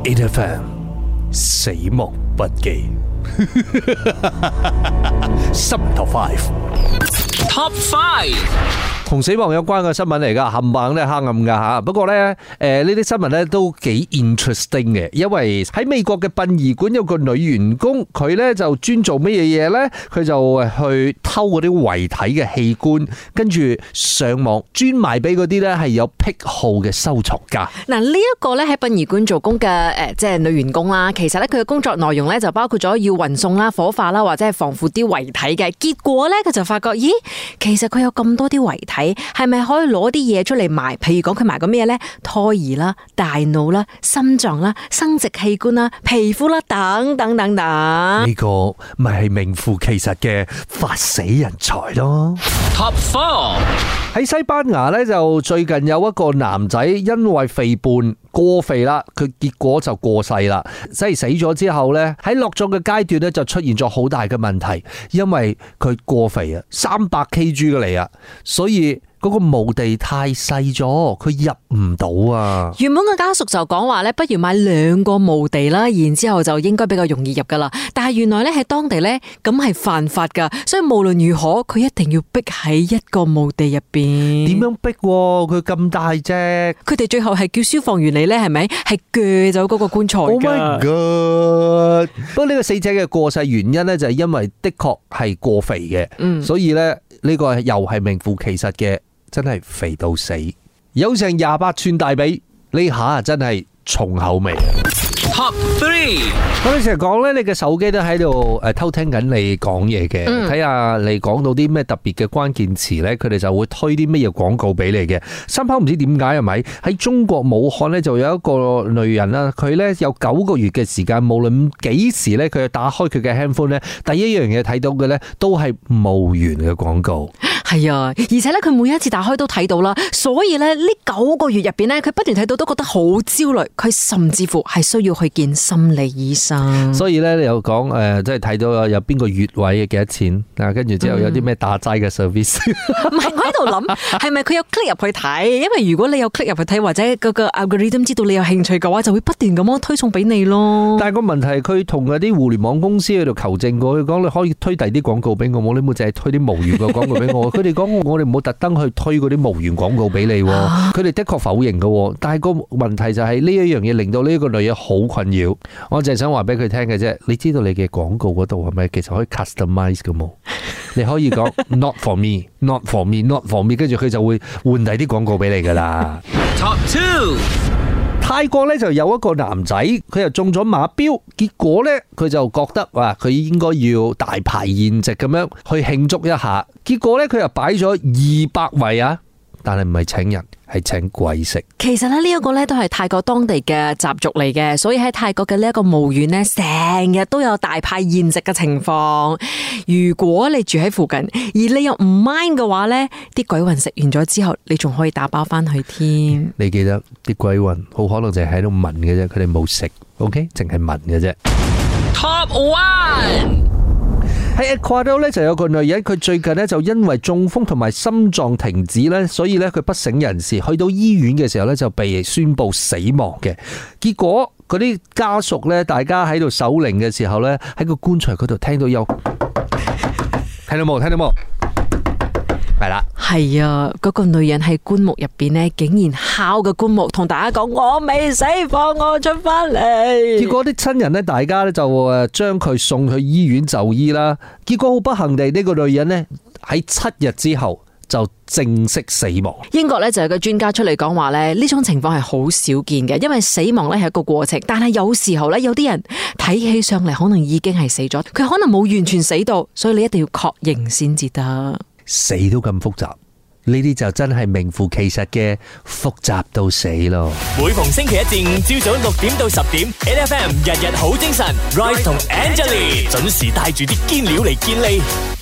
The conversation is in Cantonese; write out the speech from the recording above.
8FM 死亡筆記Top 5同死亡有關嘅新聞嚟噶，冚唪唥都係黑暗噶吓。不過咧，呢啲新聞咧都幾 interesting 嘅，因為喺美國嘅殯儀館有個女員工，佢咧就專做乜嘢嘢咧？佢就去偷嗰啲遺體嘅器官，跟住上網專賣俾嗰啲咧係有癖好嘅收藏家。 嗱，呢一個咧喺殯儀館做工嘅即係女員工啦，其實咧佢嘅工作內容咧就包括咗要運送啦、火化啦，或者係防腐啲遺體嘅。結果咧佢就發覺，咦，其實佢有咁多啲遺體。係咪可以攞啲嘢出嚟賣？譬如講佢賣過咩呢？胎兒啦、大腦啦、心臟啦、生殖器官啦、皮膚啦，等等等等。 呢個咪係名副其實嘅發死人財咯。Top 4喺西班牙呢，就最近有一個男仔因為肥胖過肥啦，佢結果就過世啦。即係死咗之後呢，喺落葬嘅階段呢，就出現咗好大嘅問題，因為佢過肥啊，300 kg 嘅嚟啊，所以嗰個墓地太細咗，佢入唔到啊！ 原本嘅家屬就講話咧，不如買2個墓地啦，然之後就應該比較容易入噶啦。但係原來咧喺當地咧咁係犯法噶，所以無論如何，佢一定要逼喺一個墓地入邊。 點樣逼？佢咁大隻， 佢哋最後係叫消防員嚟咧，係咪？係鋸走嗰個棺材噶。 Oh my god！不過呢個死者嘅過世原因咧，就係因為的確係過肥嘅，所以咧呢個又係名副其實嘅。真係肥到死，有成28寸大髀，呢下真係重口味。Top 3，我哋成日講咧，你嘅手機都喺度偷聽緊你講嘢嘅，睇下你講到啲咩特別嘅關鍵詞咧，佢哋就會推啲乜嘢廣告俾你嘅。深刻唔知點解係咪？喺中國武漢咧就有一個女人啦，佢咧有9個月嘅時間，無論幾時咧，佢打開佢嘅 handphone 咧，第一樣嘢睇到嘅咧都係墓園嘅廣告。 係啊，而且咧佢每一次打開都睇到啦，所以咧呢9個月入邊咧，佢不斷睇到都覺得好焦慮，佢甚至乎係需要去見心理醫生。所以咧你又講即係睇到有邊個穴位嘅幾多錢啊？跟住之後有啲咩打齋嘅 service。 唔係，我喺度諗係咪佢有 click 入去睇？因為如果你有 click 入去睇，或者嗰個 algorithm 知道你有興趣嘅話，就會不斷咁樣推送俾你咯。 但係個問題係佢同嗰啲互聯網公司喺度求證過，佢講你可以推第啲廣告俾我，冇你冇淨係推啲墓園嘅廣告俾我。佢哋講我哋唔好特登去推嗰啲墓園廣告俾你，佢哋的確否認嘅，但係個問題就係呢一樣嘢令到呢個女人好困擾。我淨係想話俾佢聽嘅啫，你知道你嘅廣告嗰度係咪其實可以 customize 嘅冇？你可以講 not for me, not for me, not for me， 跟住佢就會換第啲廣告俾你噶啦。Top 2，泰國咧就有一個男仔，佢又中咗馬標，結果咧佢就覺得話佢應該要大排筵席咁樣去慶祝一下，結果咧佢又擺咗200位啊，但係唔係請人，係請鬼食。 其實咧呢一個咧都係泰國當地嘅習俗嚟嘅，所以喺泰國嘅呢一個墓園咧，成日都有大派宴席嘅情況。如果你住喺附近，而你又唔 mind 嘅話咧，啲鬼魂食完咗之後，你仲可以打包翻去添。 你記得啲鬼魂好可能就係喺度聞嘅啫，佢哋冇食 ，OK， 淨係聞嘅啫。Top 1。喺 Ecuador 咧就有個女人，佢最近咧就因為中風同埋心臟停止咧，所以咧佢不省人事，去到醫院嘅時候咧就被宣布死亡嘅。結果嗰啲家屬咧，大家喺度守靈嘅時候咧，喺個棺材嗰度聽到有，聽到冇？聽到冇？係啦， 係啊，嗰個女人喺棺木入邊咧，竟然敲個棺木，同大家講我未死，放我出翻嚟。 結果啲親人咧，大家咧就將佢送去醫院就醫啦。結果好不幸地，呢個女人咧喺7日之後就正式死亡。 英國咧就有個專家出嚟講話咧，呢種情況係好少見嘅，因為死亡咧係一個過程，但係有時候咧有啲人睇起上嚟可能已經係死咗，佢可能冇完全死到，所以你一定要確認先至得。 死都咁複雜，呢啲就真係名副其實嘅複雜到死咯。 每逢星期一至五朝早6點到10點 ，8FM 日日好精神 ，Rise 同 Angelie 準時帶住啲堅料嚟見你。